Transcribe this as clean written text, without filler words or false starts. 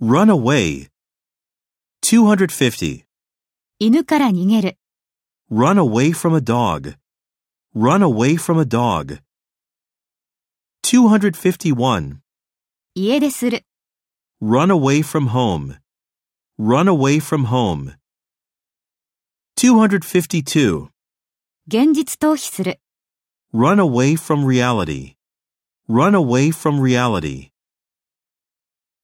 Run away. 250. 犬から逃げる。 Run away from a dog. Run away from a dog. 251. 家出する。 Run away from home. Run away from home. 252. 現実逃避する。 Run away from reality. Run away from reality.